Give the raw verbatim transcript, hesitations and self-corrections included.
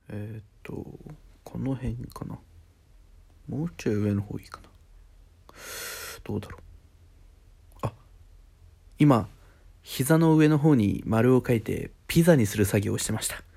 えーっとこの辺かな。もうちょい上の方いいかな。どうだろう。あ、今膝の上の方に丸を書いてピザにする作業をしてました。